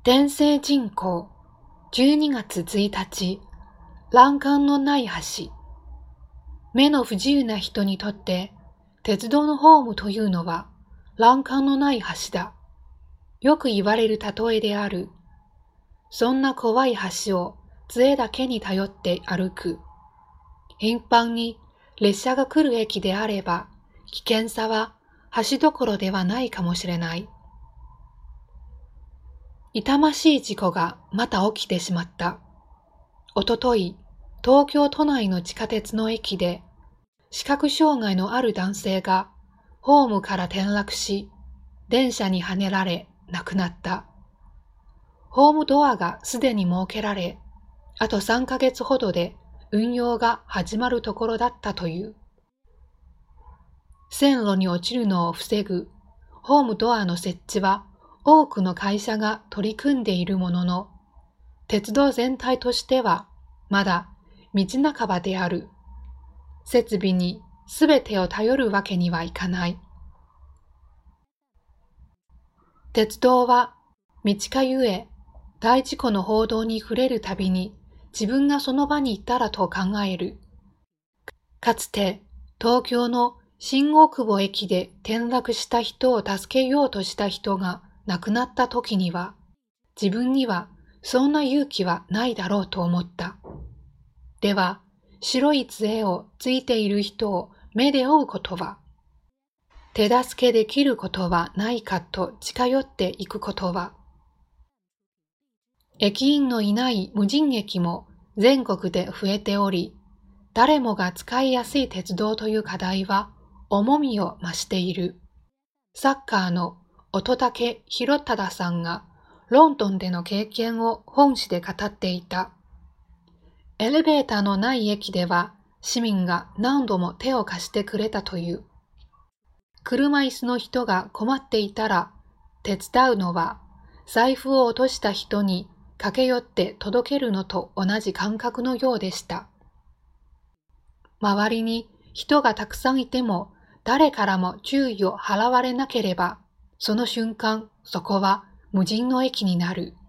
天聖人口12月1日、欄干のない橋。目の不自由な人にとって、鉄道のホームというのは欄干のない橋だ。よく言われる例えである。そんな怖い橋を杖だけに頼って歩く。頻繁に列車が来る駅であれば、危険さは橋どころではないかもしれない。痛ましい事故がまた起きてしまった。おととい、東京都内の地下鉄の駅で、視覚障害のある男性がホームから転落し、電車にはねられ亡くなった。ホームドアがすでに設けられ、あと3ヶ月ほどで運用が始まるところだったという。線路に落ちるのを防ぐホームドアの設置は多くの会社が取り組んでいるものの、鉄道全体としてはまだ道半ばである。設備にすべてを頼るわけにはいかない。鉄道は道かゆえ、大事故の報道に触れるたびに自分がその場にいたらと考える。かつて東京の新大久保駅で転落した人を助けようとした人が亡くなった時には、自分にはそんな勇気はないだろうと思った。では、白い杖をついている人を目で追うことは、手助けできることはないかと近寄っていくことは、駅員のいない無人駅も全国で増えており、誰もが使いやすい鉄道という課題は重みを増している。サッカーの乙武洋忠さんがロンドンでの経験を本誌で語っていた。エレベーターのない駅では市民が何度も手を貸してくれたという。車椅子の人が困っていたら手伝うのは財布を落とした人に駆け寄って届けるのと同じ感覚のようでした。周りに人がたくさんいても誰からも注意を払われなければ、その瞬間そこは無人の駅になる。